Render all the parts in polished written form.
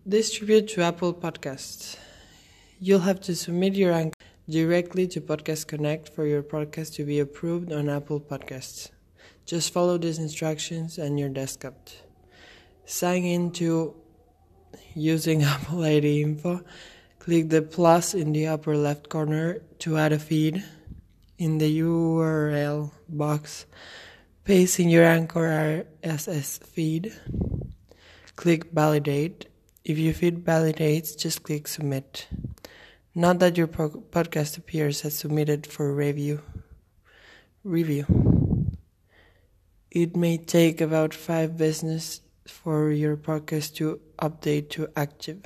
Distribute to Apple Podcasts. You'll have to submit your anchor directly to Podcast Connect for your podcast to be approved on Apple Podcasts. Just follow these instructions and you're desktop. Sign in to using Apple ID info. Click the plus in the upper left corner to add a feed. In the URL box, paste in your Anchor RSS feed. Click validate. If your feed validates, just click submit. Note that your podcast appears as submitted for review. It may take about 5 business for your podcast to update to active.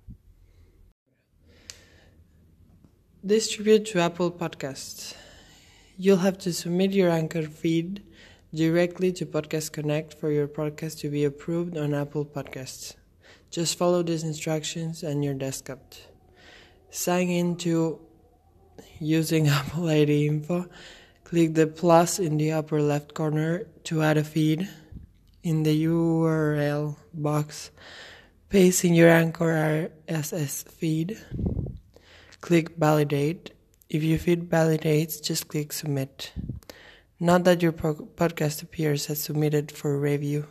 Distribute to Apple Podcasts. You'll have to submit your Anchor feed directly to Podcast Connect for your podcast to be approved on Apple Podcasts. Just follow these instructions and you're desktop. Sign in to using Apple ID info. Click the plus in the upper left corner to add a feed. In the URL box, paste in your Anchor RSS feed. Click validate. If your feed validates, just click submit. Note that your podcast appears as submitted for review.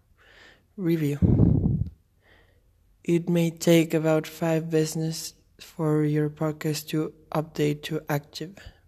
It may take about 5 business for your podcast to update to active.